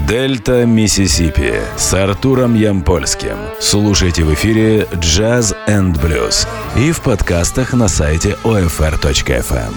Дельта Миссисипи с Артуром Ямпольским. Слушайте в эфире Jazz and Blues и в подкастах на сайте OFR.FM.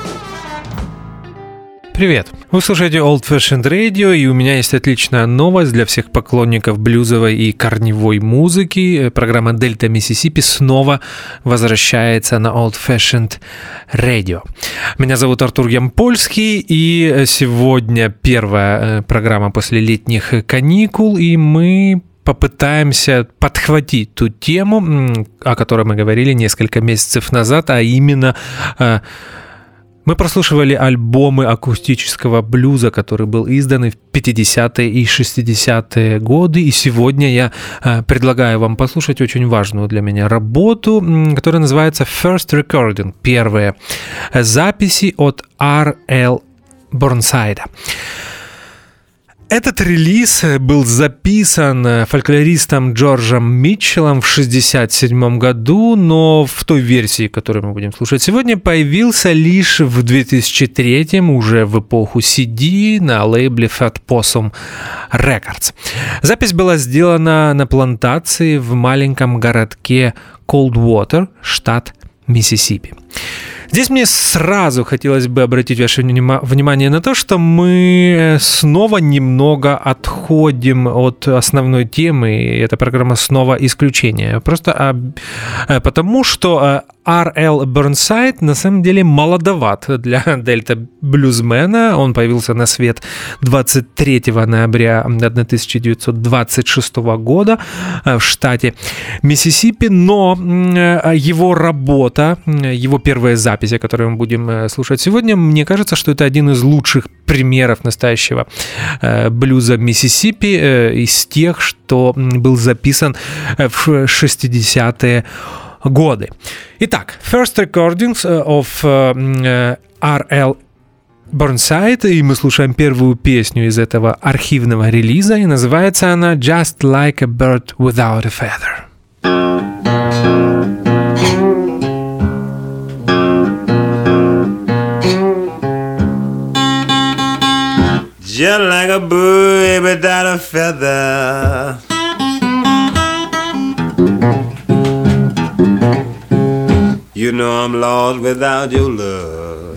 Привет! Вы слушаете Old Fashioned Radio, и у меня есть отличная новость для всех поклонников блюзовой и корневой музыки. Программа Дельта Миссисипи снова возвращается на Old Fashioned Radio. Меня зовут Артур Ямпольский, и сегодня первая программа после летних каникул, и мы попытаемся подхватить ту тему, о которой мы говорили несколько месяцев назад, а именно... Мы прослушивали альбомы акустического блюза, который был издан в 50-е и 60-е годы, и сегодня я предлагаю вам послушать очень важную для меня работу, которая называется First Recording, первые записи от R.L. Burnside. Этот релиз был записан фольклористом Джорджем Митчеллом в 1967 году, но в той версии, которую мы будем слушать сегодня, появился лишь в 2003, уже в эпоху CD, на лейбле Fat Possum Records. Запись была сделана на плантации в маленьком городке Coldwater, штат Миссисипи. Здесь мне сразу хотелось бы обратить ваше внимание на то, что мы снова немного отходим от основной темы, и эта программа снова исключение. Просто потому, что R.L. Burnside на самом деле молодоват для дельта-блюзмена. Он появился на свет 23 ноября 1926 года в штате Миссисипи, но его работа, его первая запись, о которой мы будем слушать сегодня, мне кажется, что это один из лучших примеров настоящего блюза Миссисипи из тех, что был записан в 60-е годы. Итак, First Recordings of R.L. Burnside, и мы слушаем первую песню из этого архивного релиза, и называется она Just Like a Bird Without a Feather. Just like a bird without a feather, you know I'm lost without your love.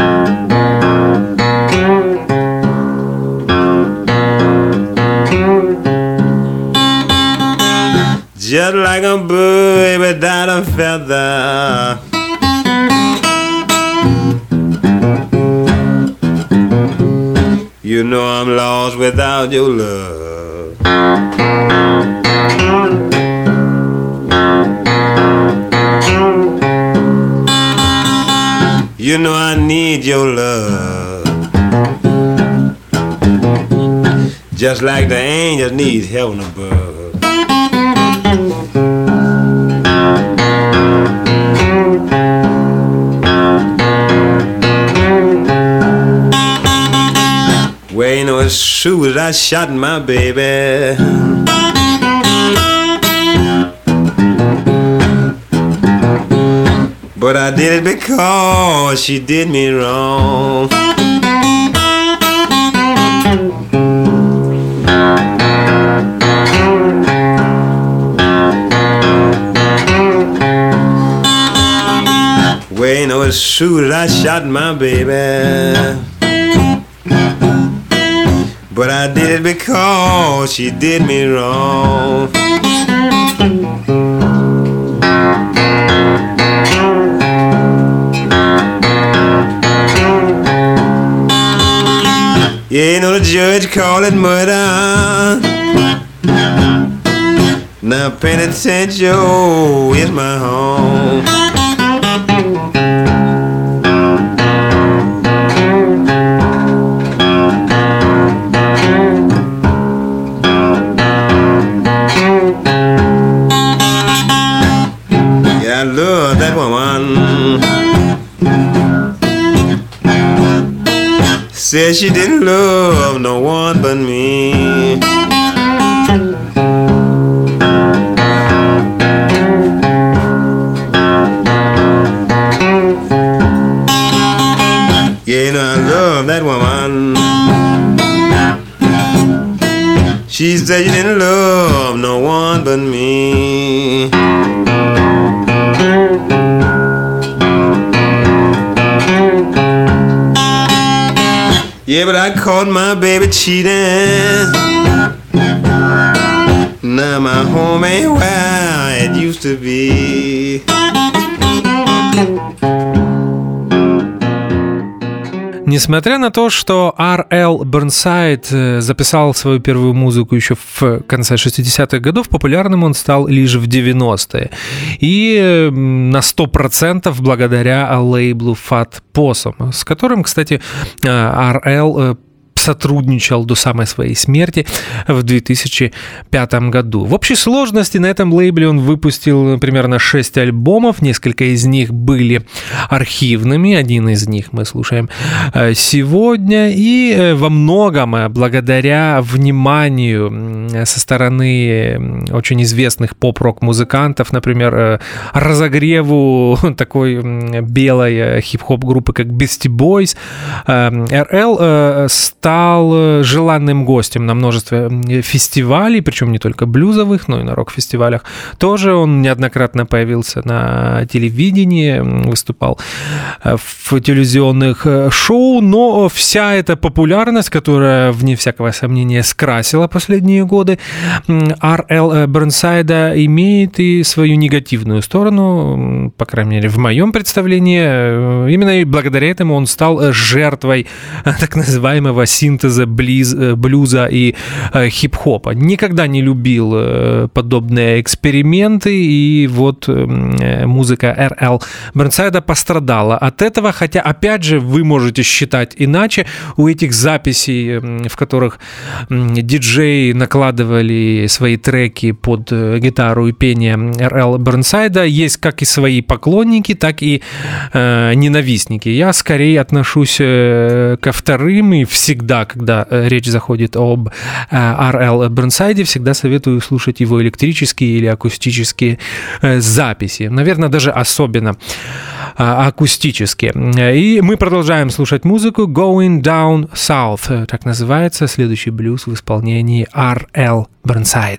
Just like a bird without a feather, you know I'm lost without your love. You know I need your love, just like the angels need heaven above. Well, you know, as soon as I shot my baby, but I did it because she did me wrong. Well, you know, as soon as I shot my baby, but I did it because she did me wrong. Yeah, you know the judge called it murder. Now penitentiary is my home. Yeah, I love that woman. Said she didn't love no one but me. Yeah, you know I love that woman. She said you didn't love no one but me. Yeah, but I caught my baby cheating. Now my home ain't where it used to be. Несмотря на то, что R.L. Burnside записал свою первую музыку еще в конце 60-х годов, популярным он стал лишь в 90-е. И на 100% благодаря лейблу Fat Possum, с которым, кстати, R.L. сотрудничал до самой своей смерти в 2005 году. В общей сложности на этом лейбле он выпустил примерно 6 альбомов, несколько из них были архивными, один из них мы слушаем сегодня, и во многом благодаря вниманию со стороны очень известных поп-рок музыкантов, например, разогреву такой белой хип-хоп группы, как Beastie Boys, R.L. стал желанным гостем на множестве фестивалей, причем не только блюзовых, но и на рок-фестивалях. Тоже он неоднократно появился на телевидении, выступал в телевизионных шоу, но вся эта популярность, которая, вне всякого сомнения, скрасила последние годы R.L. Burnside, имеет и свою негативную сторону, по крайней мере, в моем представлении. Именно и благодаря этому он стал жертвой так называемого синтеза блюза и хип-хопа. Никогда не любил подобные эксперименты, и вот музыка R.L. Burnside пострадала от этого, хотя, опять же, вы можете считать иначе. У этих записей, в которых диджеи накладывали свои треки под гитару и пение R.L. Burnside, есть как и свои поклонники, так и ненавистники. Я скорее отношусь ко вторым, и всегда, когда речь заходит об R.L. Burnside, всегда советую слушать его электрические или акустические записи. Наверное, даже особенно акустические. И мы продолжаем слушать музыку Going Down South. Так называется следующий блюз в исполнении R.L. Burnside.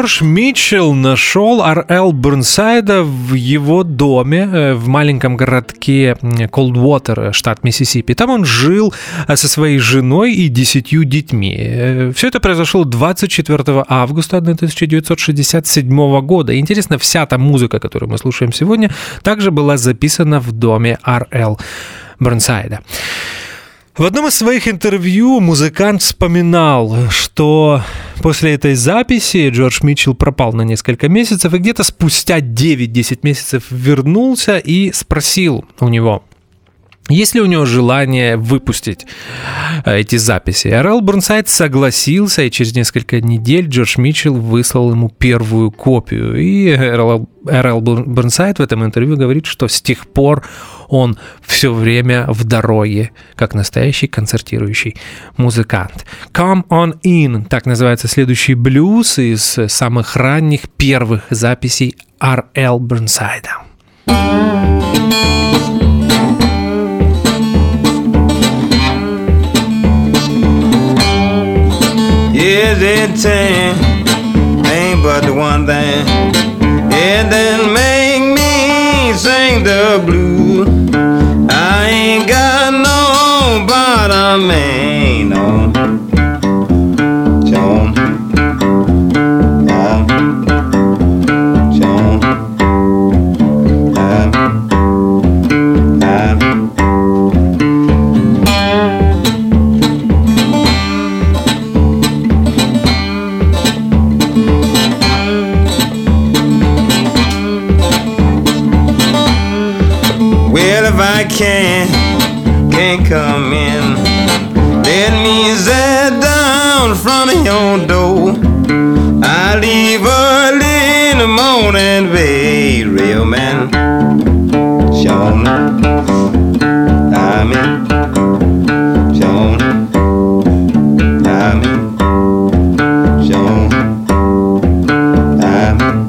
Джордж Митчелл нашел Р.Л. Бернсайда в его доме в маленьком городке Колдвотер, штат Миссисипи. Там он жил со своей женой и 10 детьми. Все это произошло 24 августа 1967 года. И интересно, вся та музыка, которую мы слушаем сегодня, также была записана в доме Р.Л. Бернсайда. В одном из своих интервью музыкант вспоминал, что после этой записи Джордж Митчелл пропал на несколько месяцев и где-то спустя 9-10 месяцев вернулся и спросил у него, есть ли у него желание выпустить эти записи. Р.Л. Бернсайд согласился, и через несколько недель Джордж Митчелл выслал ему первую копию. И Р.Л. Бернсайд в этом интервью говорит, что с тех пор он все время в дороге, как настоящий концертирующий музыкант. «Come on in» — так называется следующий блюз из самых ранних первых записей Р.Л. Бернсайда. Yes, it's ain't but the one thing, and then make me sing the blues. I ain't got no bottom man, no. John, I can't come in. Let me sit down in front of your door. I leave early in the morning, babe, real man. Sean, I'm in. Sean, I'm in. Sean, I'm in.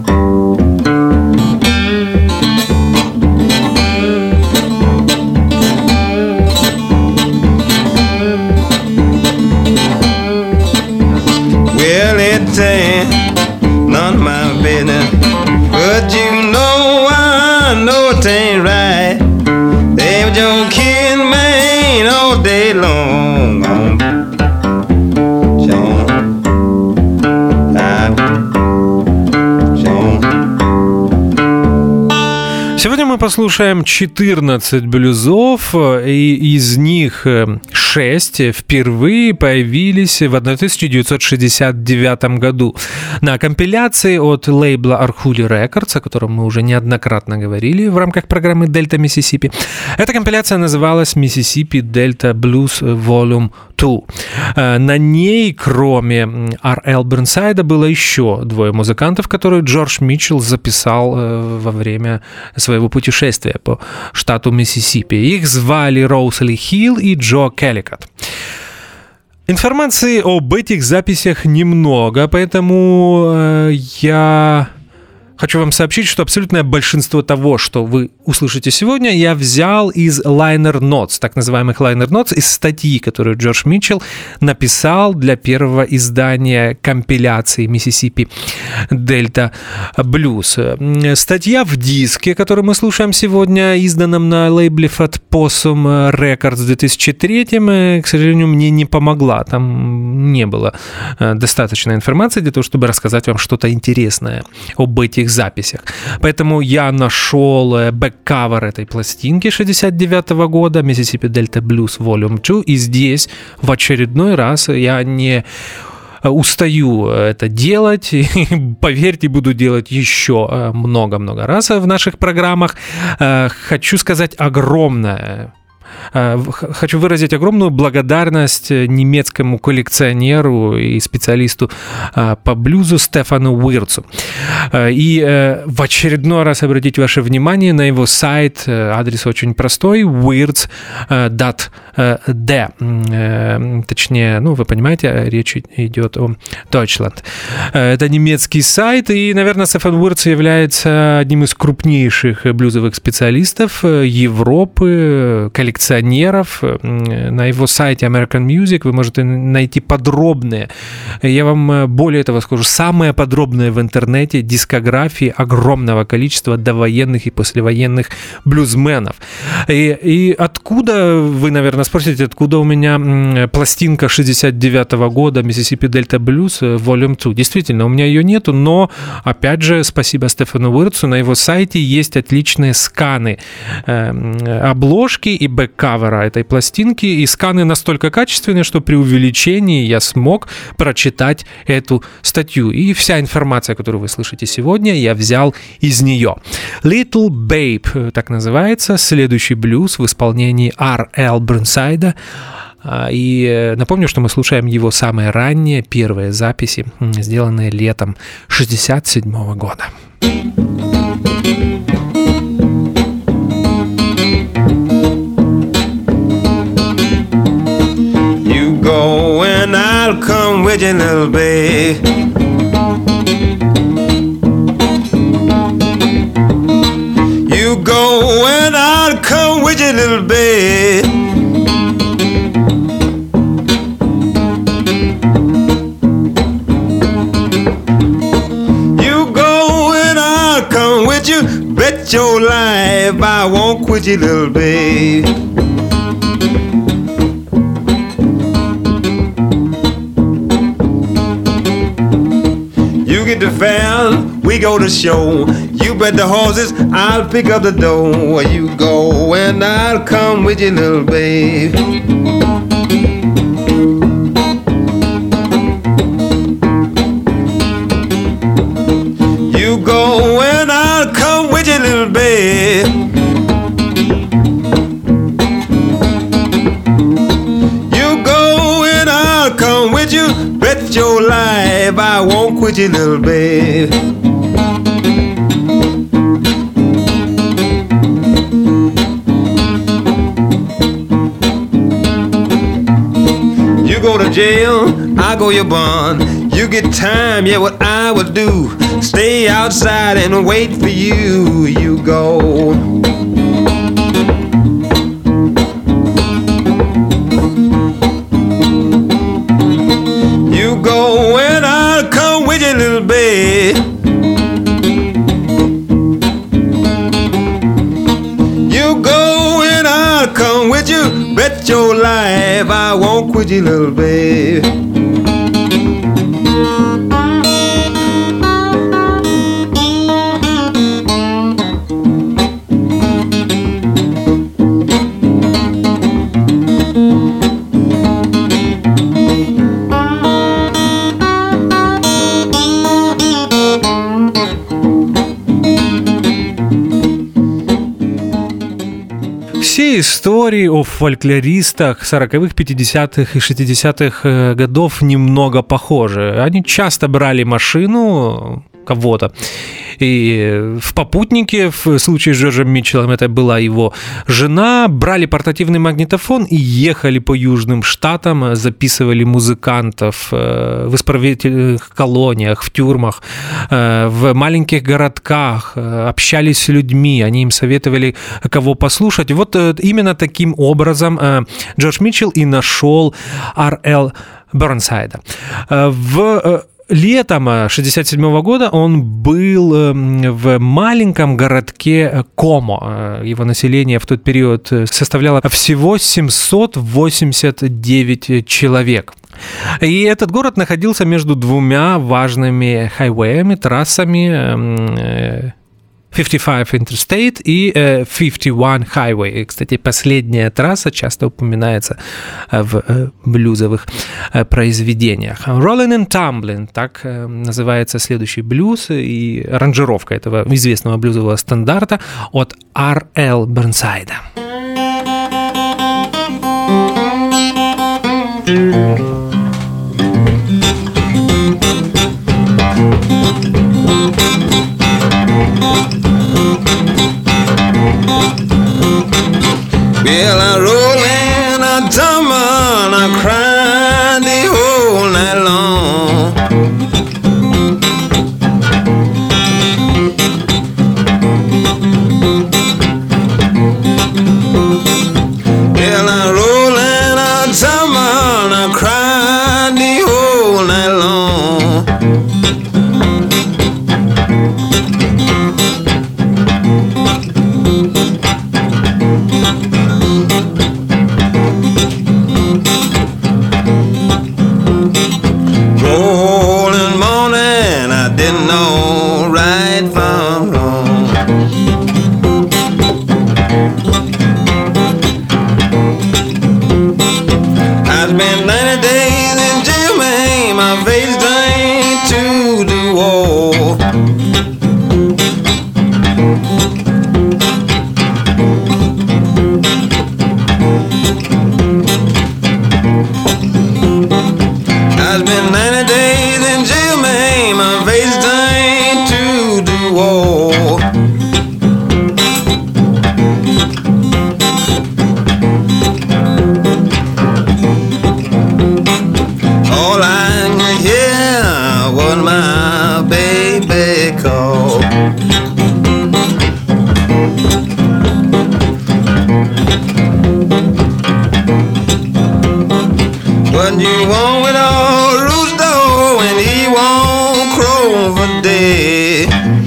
None of my business, but you know I know it ain't right. They were your kid, man, all day long. Сегодня мы послушаем 14 блюзов, и из них 6 впервые появились в 1969 году на компиляции от лейбла Arhoolie Records, о котором мы уже неоднократно говорили в рамках программы Delta Mississippi. Эта компиляция называлась Mississippi Delta Blues Volume 2. На ней, кроме Р.Л. Бернсайда, было еще двое музыкантов, которые Джордж Митчелл записал во время своего путешествия по штату Миссисипи. Их звали Роусли Хилл и Джо Келликот. Информации об этих записях немного, поэтому я хочу вам сообщить, что абсолютное большинство того, что вы услышите сегодня, я взял из liner notes, так называемых liner notes, из статьи, которую Джордж Митчелл написал для первого издания компиляции Mississippi Delta Blues. Статья в диске, который мы слушаем сегодня, изданном на лейбле Fat Possum Records в 2003, к сожалению, мне не помогла. Там не было достаточно информации для того, чтобы рассказать вам что-то интересное об этих записях. Поэтому я нашел бэк-кавер этой пластинки 69 года, Mississippi Delta Blues Volume 2, и здесь в очередной раз я не устаю это делать, и, поверьте, буду делать еще много-много раз в наших программах. Хочу сказать хочу выразить огромную благодарность немецкому коллекционеру и специалисту по блюзу Стефану Уирцу. И в очередной раз обратить ваше внимание на его сайт. Адрес очень простой: wirtz.de. Точнее, вы понимаете, речь идет о Deutschland. Это немецкий сайт, и, наверное, Стефан Уирц является одним из крупнейших блюзовых специалистов Европы, коллекционеров коллекционеров. На его сайте American Music вы можете найти подробные, я вам более того скажу, самые подробные в интернете дискографии огромного количества довоенных и послевоенных блюзменов. И откуда, вы, наверное, спросите, откуда у меня пластинка 69-го года Mississippi Delta Blues Volume 2? Действительно, у меня ее нету, но, опять же, спасибо Стефану Уиртсу, на его сайте есть отличные сканы обложки и бэк-кавера этой пластинки, и сканы настолько качественные, что при увеличении я смог прочитать эту статью. И вся информация, которую вы слышите сегодня, я взял из нее. Little Babe, так называется, следующий блюз в исполнении R.L. Burnside. И напомню, что мы слушаем его самые ранние, первые записи, сделанные летом 1967 года. You go and I'll come with you, little babe. You go and I'll come with you, little babe. Bet your life I won't quit you, little babe. You get the fare, we go to show. You bet the horses, I'll pick up the dough. You go and I'll come with you, little babe. You go and I'll come with you, little babe. You go and I'll come with you. Bet your life I won't quit you, little babe. You go to jail, I go your bond. You get time, yeah, what I would do, stay outside and wait for you. You go. You go and I'll come with you, little babe. You go and I'll come with you. Bet your life I won't quit you, little babe. Все истории о фольклористах 40-х, 50-х и 60-х годов немного похожи. Они часто брали машину кого-то, и в попутнике, в случае с Джорджем Митчеллом это была его жена, брали портативный магнитофон и ехали по южным штатам, записывали музыкантов в исправительных колониях, в тюрьмах, в маленьких городках, общались с людьми, они им советовали, кого послушать. Вот именно таким образом Джордж Митчелл и нашел R.L. Burnside. Летом 1967 года он был в маленьком городке Комо. Его население в тот период составляло всего 789 человек. И этот город находился между двумя важными хайвеями, трассами 55 Interstate и 51 Highway. Кстати, последняя трасса часто упоминается в блюзовых произведениях. Rolling and Tumbling, так называется следующий блюз, и аранжировка этого известного блюзового стандарта от R.L. Burnside. Well, I roll and I tumble, I cry the whole night long. been 90 days in jail, man. My face done to the wall. All I can hear was my baby call. What you want with old Rooster when he won't crow for day?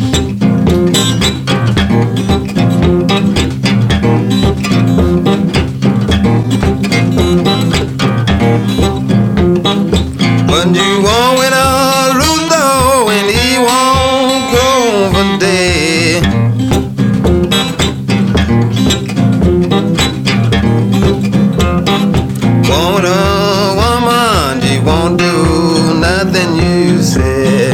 What you want with old Rooster when he won't crow for day? Want a woman, she won't do nothing you say.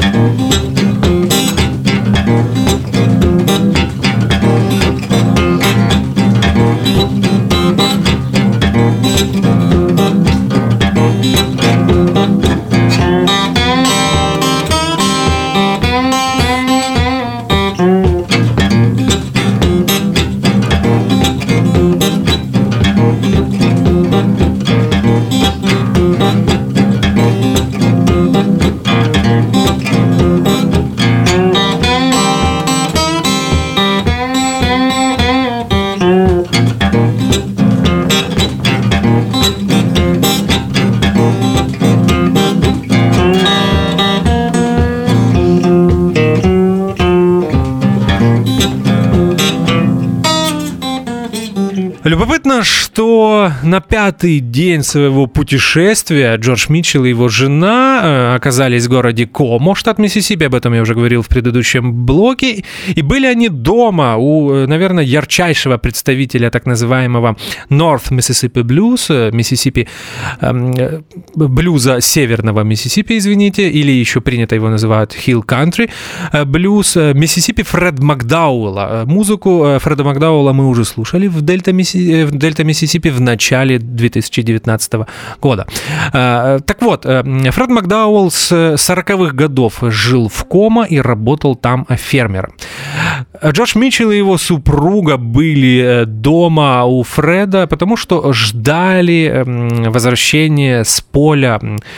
Любопытно, что на 5-й день своего путешествия Джордж Митчелл и его жена оказались в городе Комо, штат Миссисипи, об этом я уже говорил в предыдущем блоке, и были они дома у, наверное, ярчайшего представителя так называемого North Mississippi Blues, Миссисипи, блюза северного Миссисипи, извините, или еще принято его называют Hill Country, блюз Миссисипи Фред Макдауэлла. Музыку Фреда Макдауэлла мы уже слушали в Дельта Миссисипи в начале 2019 года. Так вот, Фред Макдауэлл с 40-х годов жил в Комо и работал там фермером. Джордж Митчелл и его супруга были дома у Фреда, потому что ждали возвращения с поля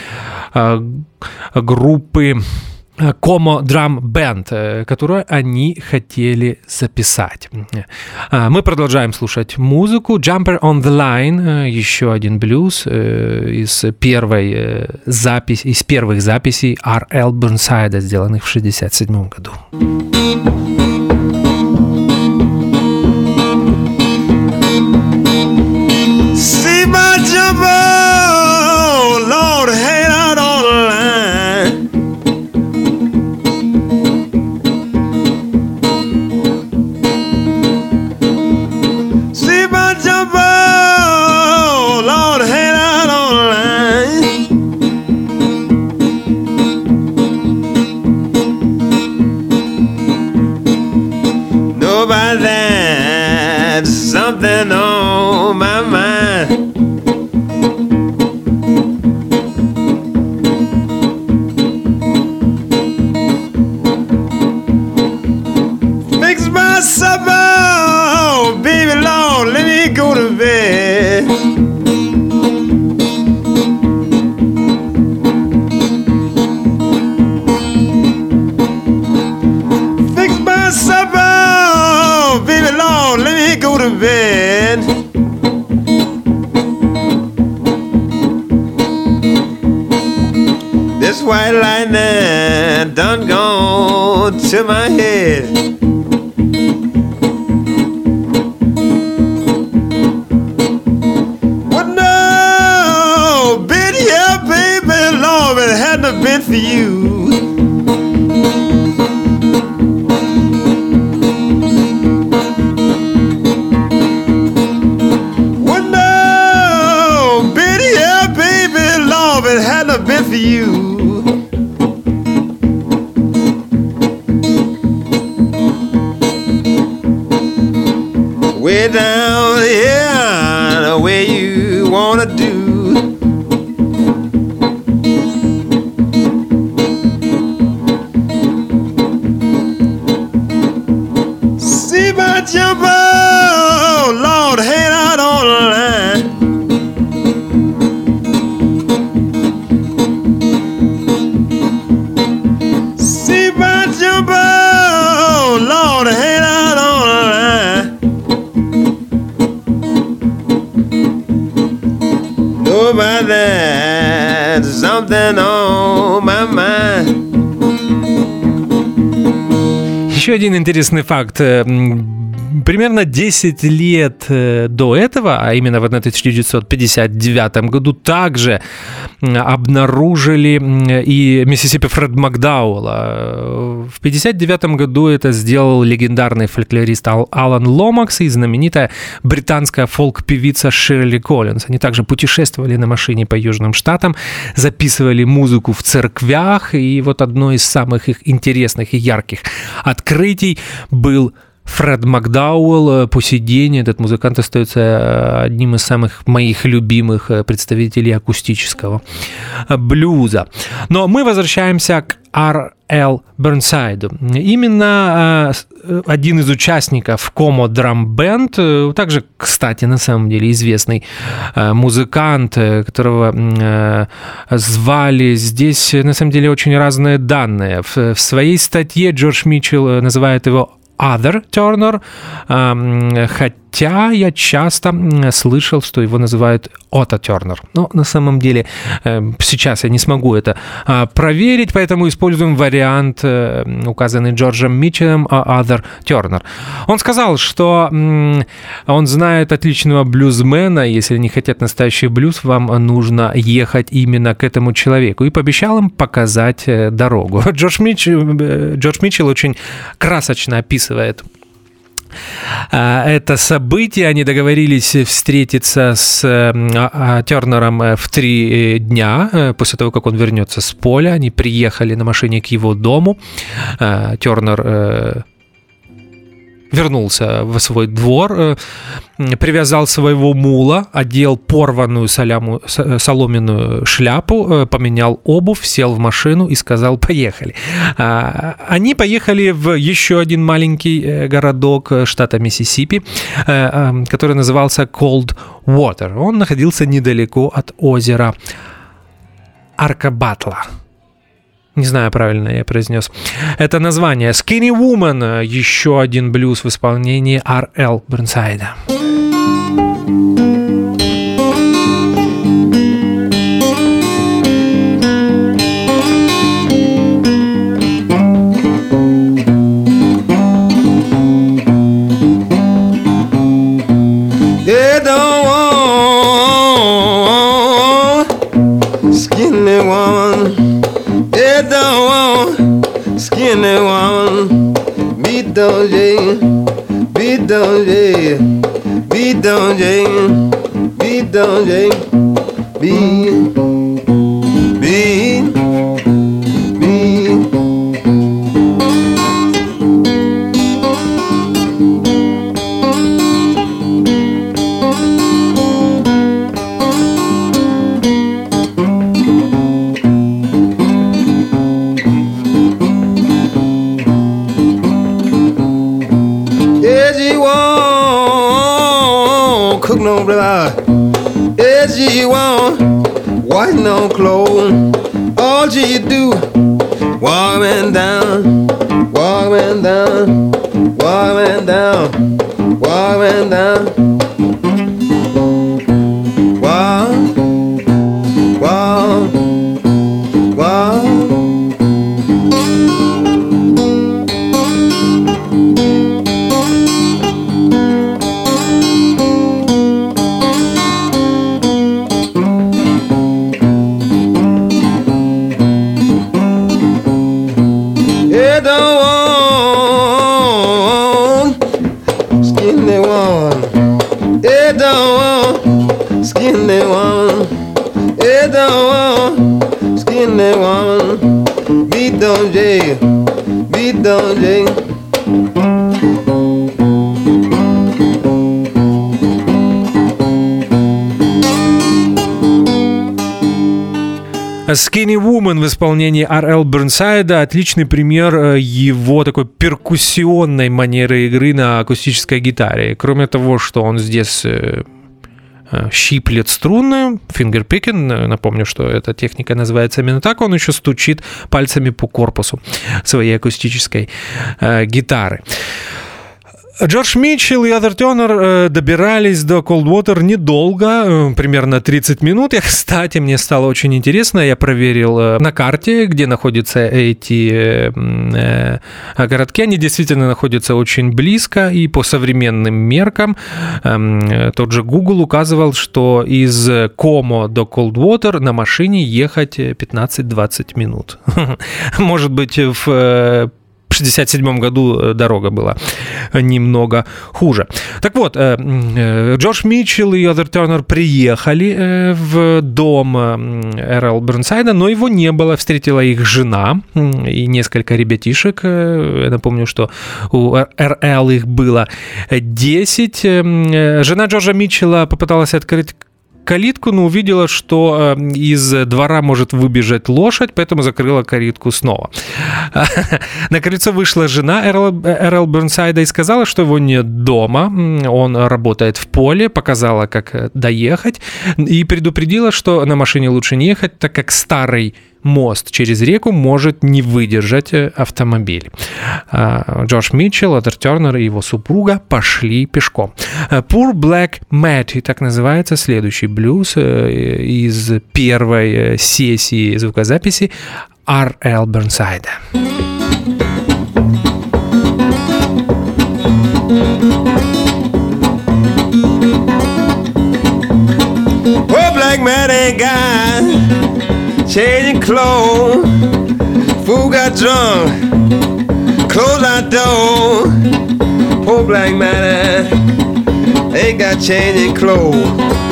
группы Como Drum Band, которую они хотели записать. Мы продолжаем слушать музыку. Jumper on the Line, еще один блюз из первых записей R.L. Burnside, сделанных в 1967 году. See my jumper, Lord, head out on the line. See my jumper, Lord, head out on the line. Know about that, something on my mind. Fix my supper, baby Lord, let me go to bed. Fix my supper, baby Lord, let me go to bed. This white lightning done gone to my head. What no, been here, baby, Lord, it hadn't have been for you. What no, been here, baby, Lord, it hadn't have been for you. Way down here, the way you wanna do. been on my mind. Еще один интересный факт. Примерно 10 лет до этого, а именно в 1959 году, также обнаружили и Миссисипи Фред Макдауэлла. В 1959 году это сделал легендарный фольклорист Алан Ломакс и знаменитая британская фолк-певица Ширли Коллинз. Они также путешествовали на машине по Южным Штатам, записывали музыку в церквях, и вот одно из самых их интересных и ярких открытий был Фред Макдауэлл. По сей день этот музыкант остается одним из самых моих любимых представителей акустического блюза. Но мы возвращаемся к R.L. Burnside. Именно один из участников Como Drum Band, также, кстати, на самом деле известный музыкант, которого звали, здесь на самом деле очень разные данные. В своей статье Джордж Митчелл называет его Other Turner, хотя я часто слышал, что его называют Otto Turner. Но на самом деле сейчас я не смогу это проверить, поэтому используем вариант, указанный Джорджем Митчеллом, Other Turner. Он сказал, что он знает отличного блюзмена, если они хотят настоящий блюз, вам нужно ехать именно к этому человеку, и пообещал им показать дорогу. Джордж Митчелл очень красочно описывает это событие. Они договорились встретиться с Тернером в 3 дня после того, как он вернется с поля. Они приехали на машине к его дому. Тернер вернулся в свой двор, привязал своего мула, одел порванную соломенную шляпу, поменял обувь, сел в машину и сказал: «Поехали». Они поехали в еще один маленький городок штата Миссисипи, который назывался Cold Water. Он находился недалеко от озера Аркабатла. Не знаю, правильно я произнес это название. Skinny Woman, еще один блюз в исполнении R.L. Burnside. Skinny woman, beat down Jane, beat down Jane, beat down Jane, beat down Jane, beat, beat, beat. Cook no brother, as you want, white no clothes. All you do, walk man down, walk man down, walk man down, walk man down. Walk, walk, walk. Skinny one, it don't want, skinny one, beat down Jay, beat down Jay. Skinny Woman в исполнении R.L. Burnside — отличный пример его такой перкуссионной манеры игры на акустической гитаре. Кроме того, что он здесь щиплет струны, фингерпикинг, напомню, что эта техника называется именно так, он еще стучит пальцами по корпусу своей акустической гитары. Джордж Митчелл и Отher Turner добирались до Coldwater недолго, примерно 30 минут. Кстати, мне стало очень интересно, я проверил на карте, где находятся эти городки. Они действительно находятся очень близко, и по современным меркам тот же Google указывал, что из Комо до Coldwater на машине ехать 15-20 минут. Может быть, в 1967 году дорога была немного хуже. Так вот, Джордж Митчелл и Отher Turner приехали в дом Р.Л. Бернсайда, но его не было. Встретила их жена и несколько ребятишек. Я напомню, что у Р.Л. их было 10. Жена Джорджа Митчелла попыталась открыть калитку, но увидела, что из двора может выбежать лошадь, поэтому закрыла калитку снова. На крыльцо вышла жена Р.Л. Бернсайда и сказала, что его нет дома, он работает в поле, показала, как доехать, и предупредила, что на машине лучше не ехать, так как старый мост через реку может не выдержать автомобиль. Джордж Митчелл, Отher Turner и его супруга пошли пешком. Poor Black Matty, так называется следующий блюз из первой сессии звукозаписи Р.Л. Бернсайда. Poor Black Matty guy, changing clothes, fool got drunk, closed our door. Poor Black man ain't got changing clothes.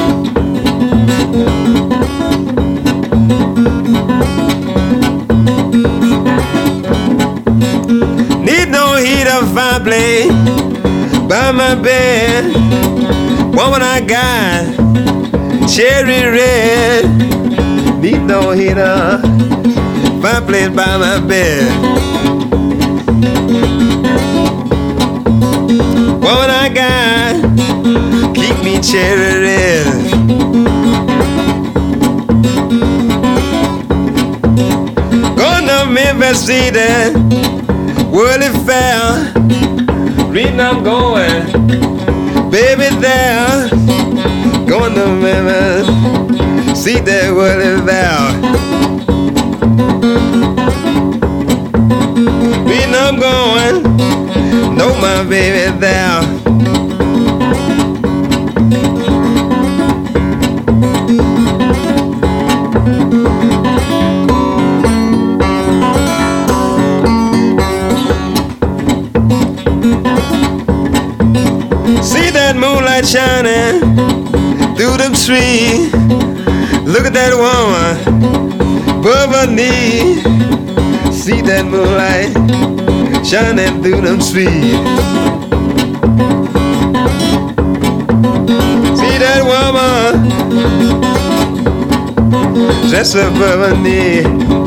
Need no heater, fireplace by my bed. Woman I got cherry red. Need no heater, fireplace by my bed. Woman I got, keep me cherry red. Going to Memphis, see that Worldly Fair. Reading I'm going, baby there. Going to Memphis, see that Worldly Fair. Reading I'm going, know my baby there. See that moonlight shining through them trees. Look at that woman above her knee. See that moonlight shining through them trees. See that woman just above her knee.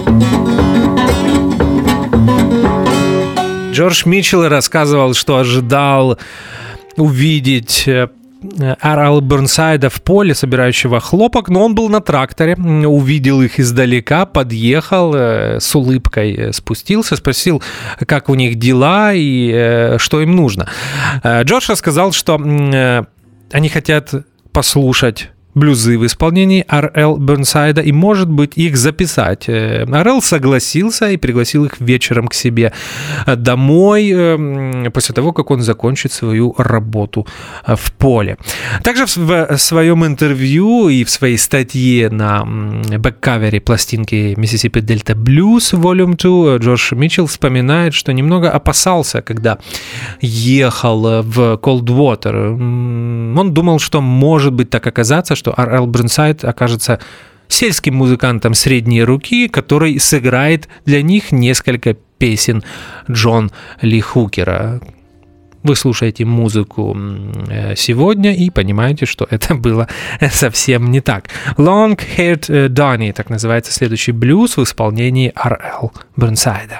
Джордж Митчелл рассказывал, что ожидал увидеть Р.Л. Бернсайда в поле, собирающего хлопок, но он был на тракторе, увидел их издалека, подъехал, с улыбкой спустился, спросил, как у них дела и что им нужно. Джордж рассказал, что они хотят послушать блюзы в исполнении Р.Л. Бернсайда и, может быть, их записать. Р.Л. согласился и пригласил их вечером к себе домой после того, как он закончит свою работу в поле. Также в своем интервью и в своей статье на бэккавере пластинки Mississippi Delta Blues Volume 2 Джордж Митчелл вспоминает, что немного опасался, когда ехал в Coldwater. Он думал, что может быть так оказаться, что Р.Л. Бернсайд окажется сельским музыкантом средней руки, который сыграет для них несколько песен Джон Ли Хукера. Вы слушаете музыку сегодня и понимаете, что это было совсем не так. Long Haired Donnie, так называется следующий блюз в исполнении Р.Л. Бернсайда.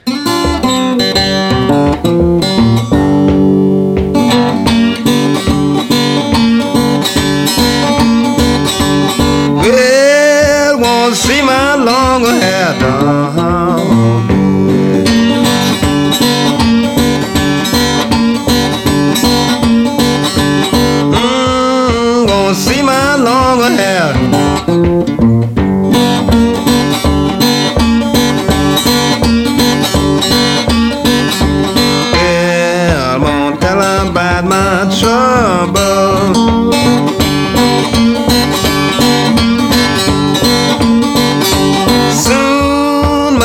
Well, won't see my long hair done.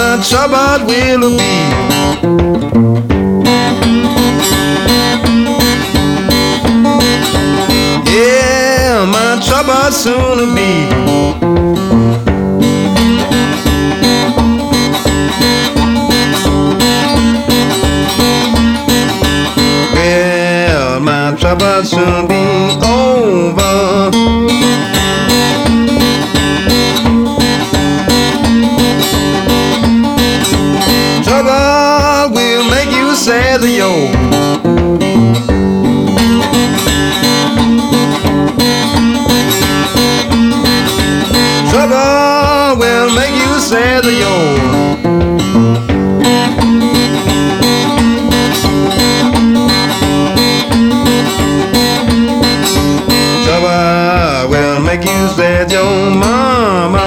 my trouble will be. Yeah, my trouble soon will be. Well, my trouble soon be over. Trouble will make you sad, yo. Trouble will make you sad, yo. Trouble will make you sad, yo, mama.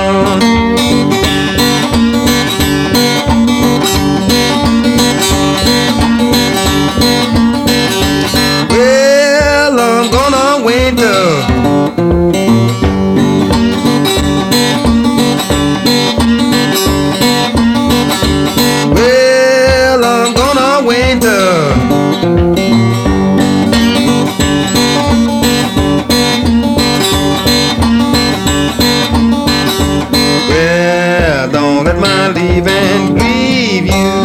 Well, I'm gonna wait up. Well, I'm gonna wait up. Well, don't let my leaving grieve you.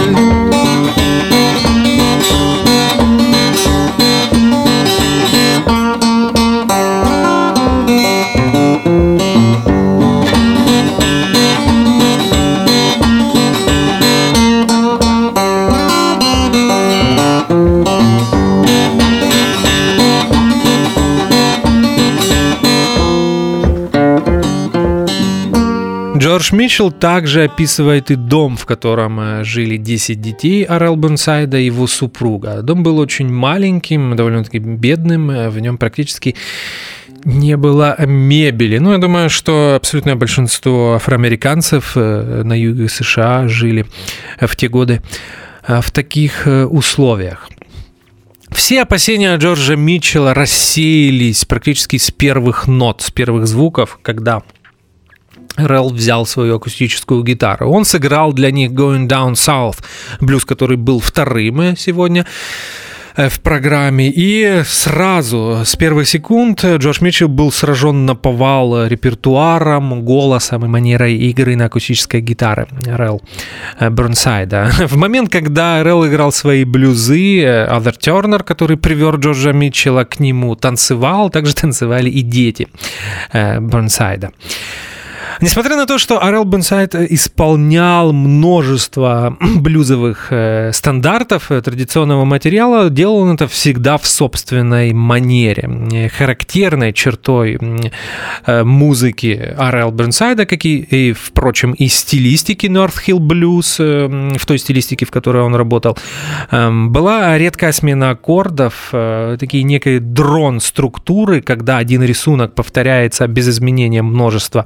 Джордж Митчелл также описывает и дом, в котором жили 10 детей Орел Бернсайда и его супруга. Дом был очень маленьким, довольно-таки бедным, в нем практически не было мебели. Ну, я думаю, что абсолютное большинство афроамериканцев на юге США жили в те годы в таких условиях. Все опасения Джорджа Митчелла рассеялись практически с первых нот, с первых звуков, когда Орел взял свою акустическую гитару. Он сыграл для них Going Down South, блюз, который был вторым сегодня в программе. И сразу, с первых секунд, Джордж Митчелл был сражен наповал репертуаром, голосом и манерой игры на акустической гитаре Орел Бернсайда. В момент, когда Орел играл свои блюзы, Отher Turner, который привел Джорджа Митчелла к нему, танцевал, также танцевали и дети Бернсайда. Несмотря на то, что Орел Бернсайд исполнял множество блюзовых стандартов традиционного материала, делал он это всегда в собственной манере. Характерной чертой музыки Орел Бернсайда, как и, впрочем, и стилистики North Hill Blues, в той стилистике, в которой он работал, была редкая смена аккордов, такие некие дрон-структуры, когда один рисунок повторяется без изменения множества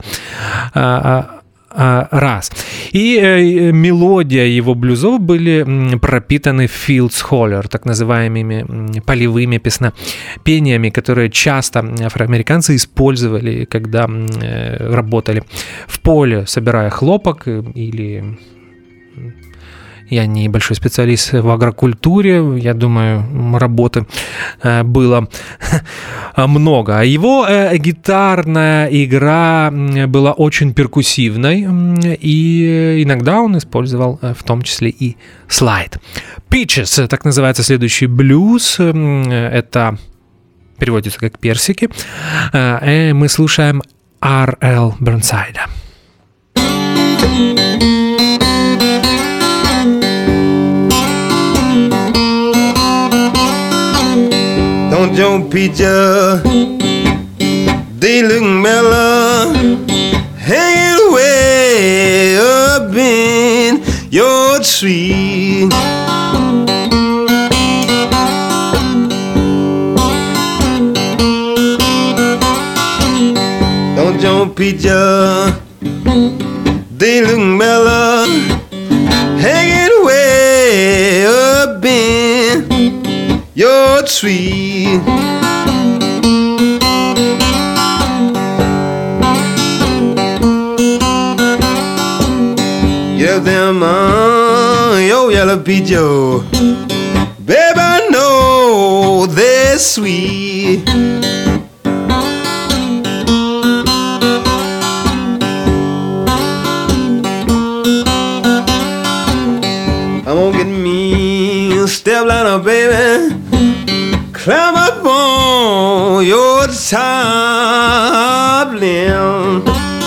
раз. И мелодия его блюзов были пропитаны Fields Holler, так называемыми полевыми пениями, которые часто афроамериканцы использовали, когда работали в поле, собирая хлопок или... Я не большой специалист в агрокультуре, я думаю, работы было много. Его гитарная игра была очень перкуссивной, и иногда он использовал в том числе и слайд. Peaches, так называется следующий блюз, это переводится как персики, и мы слушаем Орел Бернсайда. Don't your peaches, they look mellow, hanging way up in your tree. Don't your peaches, they look mellow, hanging way up in your tree. Get up them your yellow peaches. Baby, I know they're sweet. I'm gonna get me a step ladder, baby. Climb up on your top limb.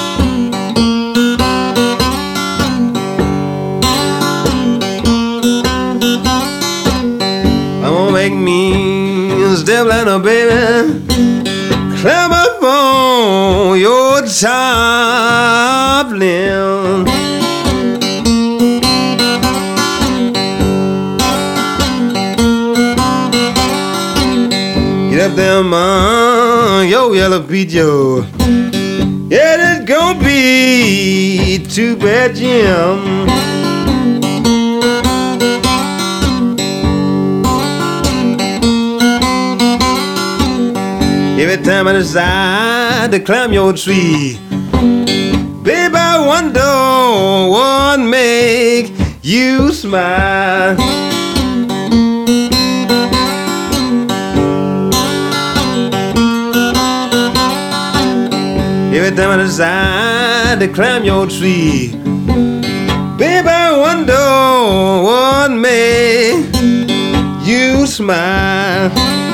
I'm gonna make me a step ladder, baby. Climb up on your top limb. Get up there, man, yo, yellow peaches. Yeah, it's gonna be too bad, Jim. Every time I decide to climb your tree, baby, I wonder what make you smile. Every time I decide to climb your tree, baby, I wonder what made you smile.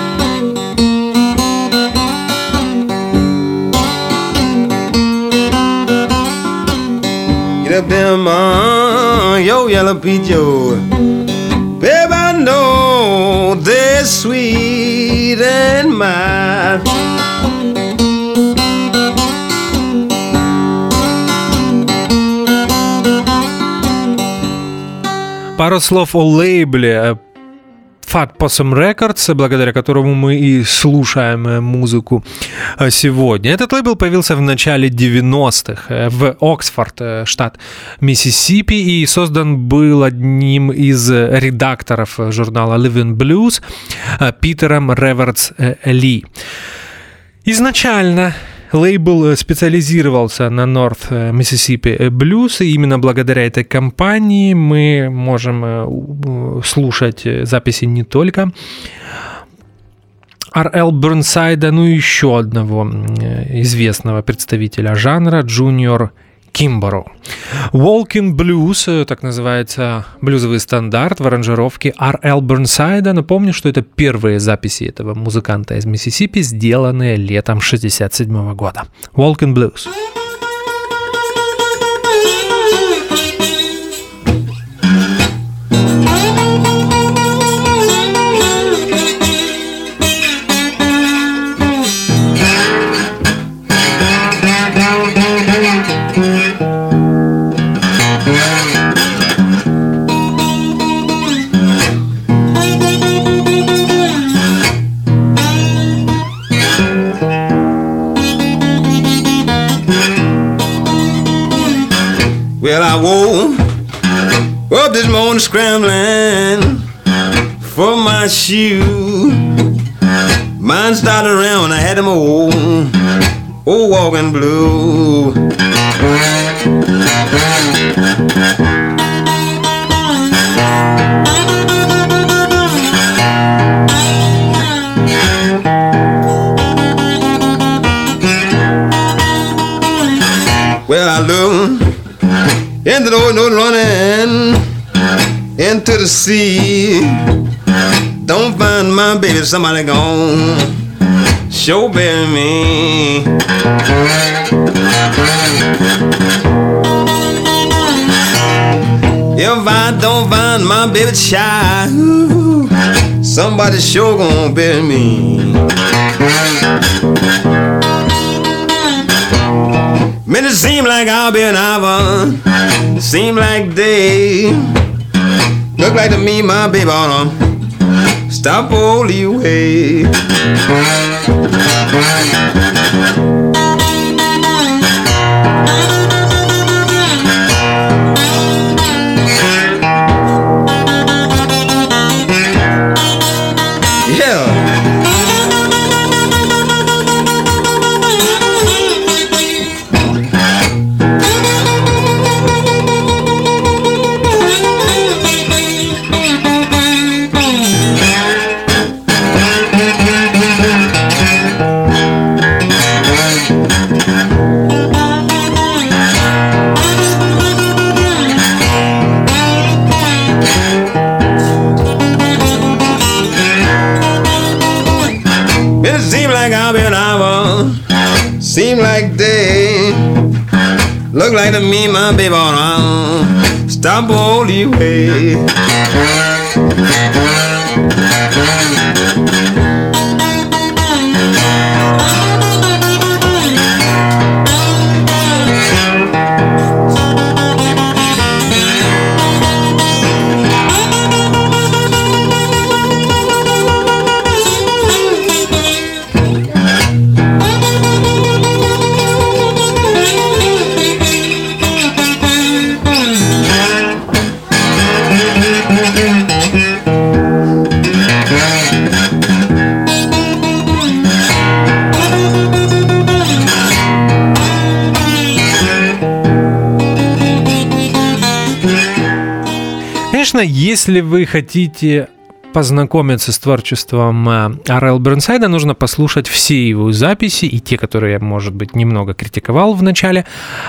Get up there, man, yo, yellow peaches. Baby, I know they're sweet and mild. Пару слов о лейбле Fat Possum Records, благодаря которому мы и слушаем музыку сегодня. Этот лейбл появился в начале 90-х в Оксфорд, штат Миссисипи, и создан был одним из редакторов журнала Living Blues Питером Ревердс Ли. Изначально лейбл специализировался на North Mississippi Blues, и именно благодаря этой компании мы можем слушать записи не только R.L. Бёрнсайда, но и еще одного известного представителя жанра Джуниор Кимборо. Walking Blues, так называется блюзовый стандарт в аранжировке R.L. Бёрнсайда. Напомню, что это первые записи этого музыканта из Миссисипи, сделанные летом 1967 года. Walking Blues. Well, I woke up this morning scrambling for my shoe. Mine started around when I had them old walking blue. Well, I looked into the old road running into the sea. Don't find my baby, somebody gone sure bury me. If I don't find my baby child, somebody sure gonna bury me. Man, it seem like I'll be an hour, seem like day. Look like to me my baby oughta stop all the way. seem like day. Look like to me, my baby, around. Stop all the way. Конечно, если вы хотите познакомиться с творчеством R.L. Burnside, нужно послушать все его записи, и те, которые я, может быть, немного критиковал в начале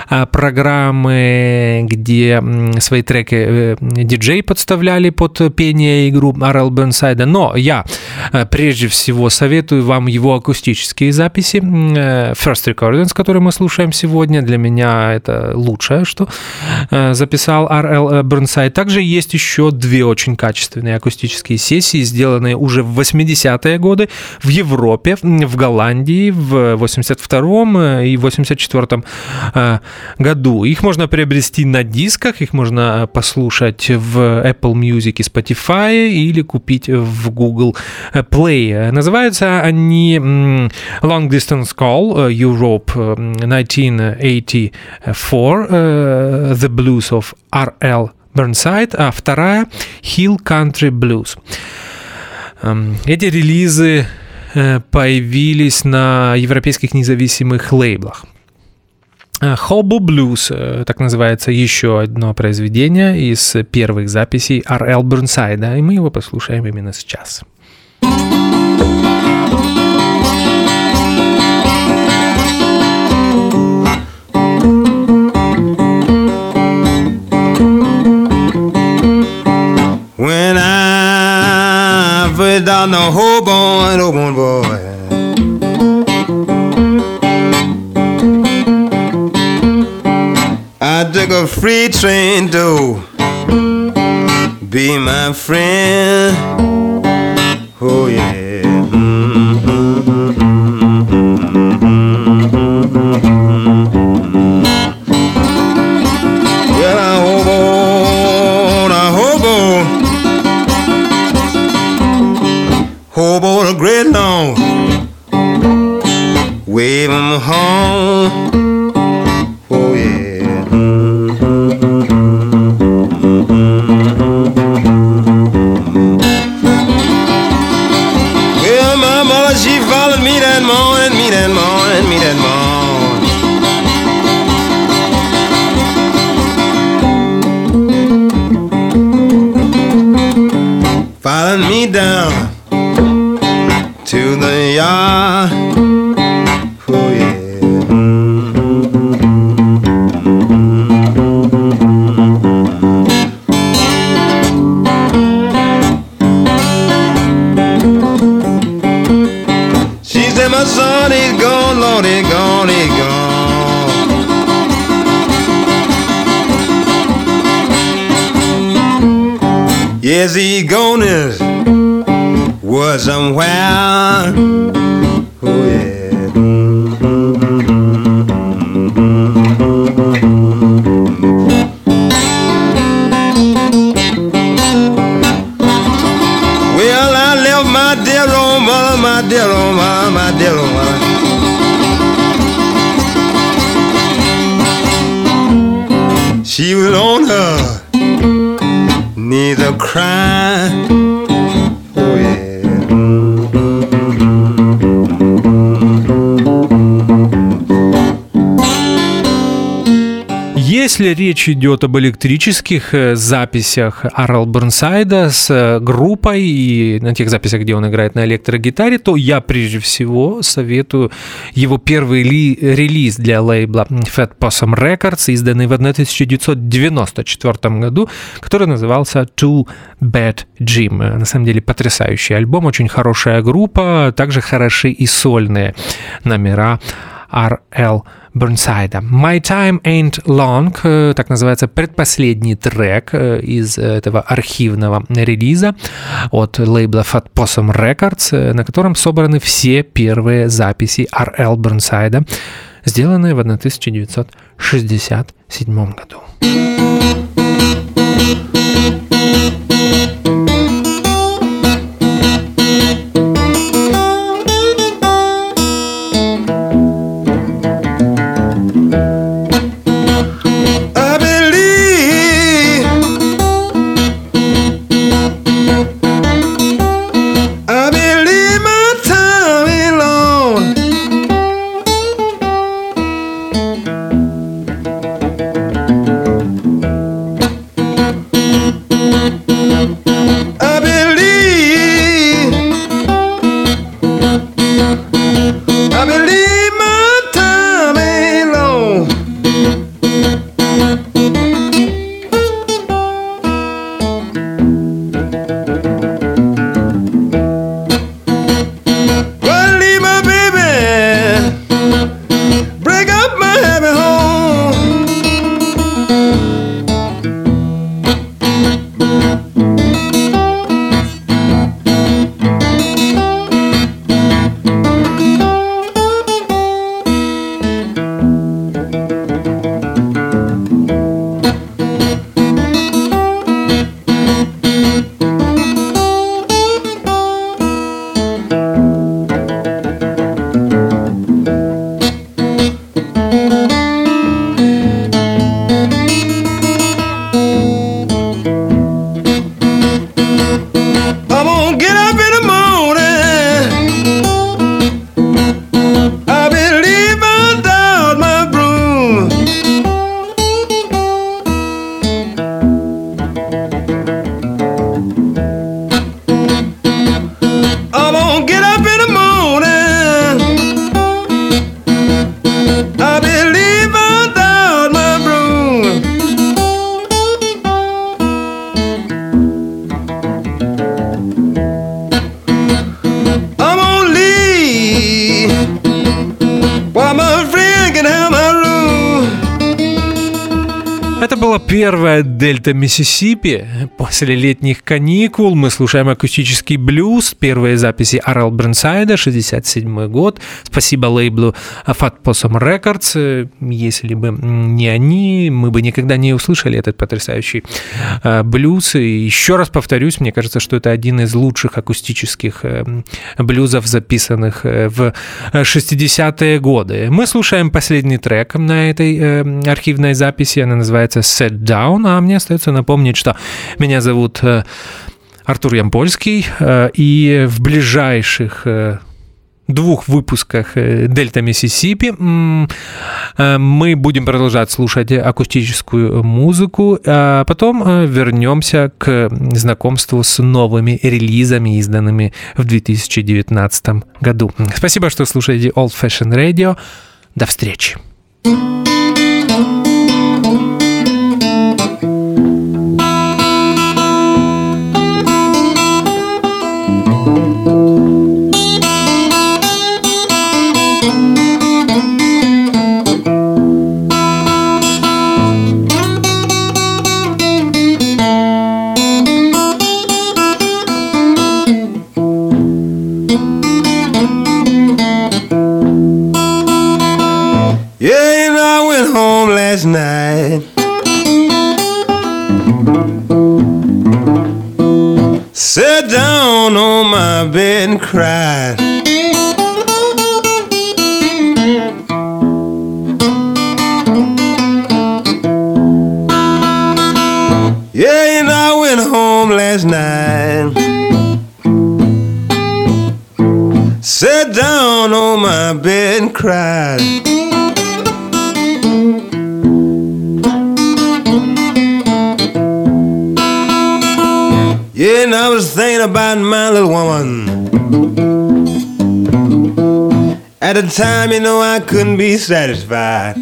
программы, где свои треки диджей подставляли под пение и игру R.L. Burnside. Но я прежде всего советую вам его акустические записи. First Recordings, которые мы слушаем сегодня, для меня это лучшее, что записал R.L. Burnside. Также есть еще две очень качественные акустические сессии, сделанные уже в 80-е годы в Европе, в Голландии в 82-м и 84-м году. Их можно приобрести на дисках, их можно послушать в Apple Music и Spotify или купить в Google Play. Называются они Long Distance Call Europe 1984, The Blues of R.L. Burnside, а вторая Hill Country Blues. Эти релизы появились на европейских независимых лейблах. Hobo Blues, так называется еще одно произведение из первых записей R.L. Burnside, и мы его послушаем именно сейчас. When I first down the Hoboken boy, I took a free train to be my friend. Oh yeah. Well, I hobo the great long, wave 'em home. Oh yeah. Well, my mother, she followed me that morning, me that morning, me that morning. Followed me down to the yard. Oh yeah. She said my son is gone, Lord, he's gone, he's gone. Yes, he's gone is was somewhere. Oh yeah. Well, I left my dear old mother, my dear old mother, my dear old mother. She was on her knees a crying. Oh yeah. Если речь идет об электрических записях R.L. Burnside с группой и на тех записях, где он играет на электрогитаре, то я прежде всего советую его первый релиз для лейбла Fat Possum Records, изданный в 1994 году, который назывался Too Bad Jim. На самом деле потрясающий альбом, очень хорошая группа, также хороши и сольные номера R.L. Burnside. My Time Ain't Long, так называется предпоследний трек из этого архивного релиза от лейбла Fat Possum Records, на котором собраны все первые записи R.L. Burnside, сделанные в 1967 году. Первая «Дельта Миссисипи». После летних каникул мы слушаем акустический блюз. Первые записи R.L. Burnside, 67 год. Спасибо лейблу Fat Possum Records. Если бы не они, мы бы никогда не услышали этот потрясающий блюз. И еще раз повторюсь, мне кажется, что это один из лучших акустических блюзов, записанных в 60-е годы. Мы слушаем последний трек на этой архивной записи. Она называется «Set Down», а мне остается напомнить, что меня зовут Артур Ямпольский, и в ближайших 2 выпусках «Дельта Миссисипи» мы будем продолжать слушать акустическую музыку, а потом вернемся к знакомству с новыми релизами, изданными в 2019 году. Спасибо, что слушаете Old Fashioned Radio. До встречи. Last night, sat down on my bed and cried. Yeah, and I went home last night, sat down on my bed and cried. Yeah, and I was thinking about my little woman. At the time, you know, I couldn't be satisfied.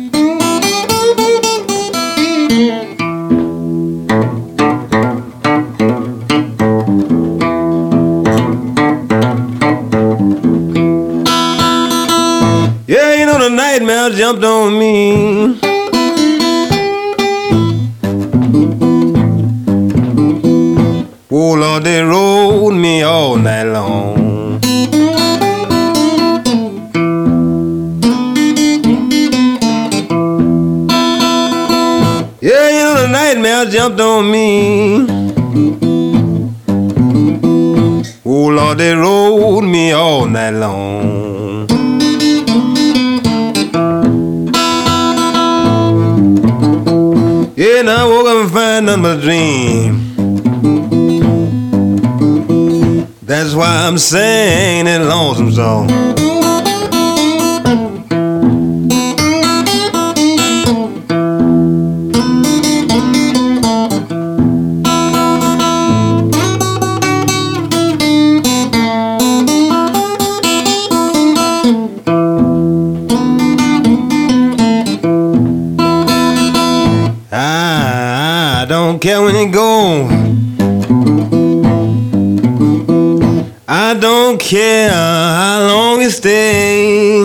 Yeah, you know, the night Oh Lord, they rode me all night long. Yeah, you know the nightmare jumped on me. Oh Lord, they rode me all night long. Yeah, now I woke up and find nothing but a dream. That's why I'm singing that lonesome song. I don't care when it goes. I don't care how long it stays.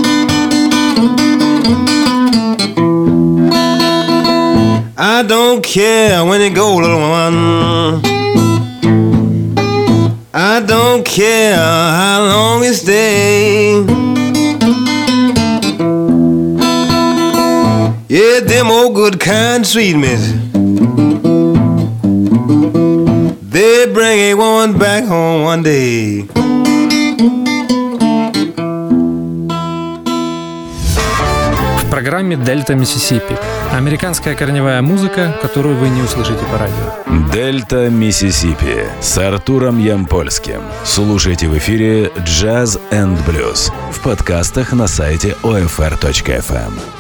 I don't care when it goes, little one. I don't care how long it stays. Yeah, them old good kind treatments, they bring a woman back home one day. В программе «Дельта Миссисипи» американская корневая музыка, которую вы не услышите по радио. «Дельта Миссисипи» с Артуром Ямпольским. Слушайте в эфире «Джаз энд блюз» в подкастах на сайте OFR.FM.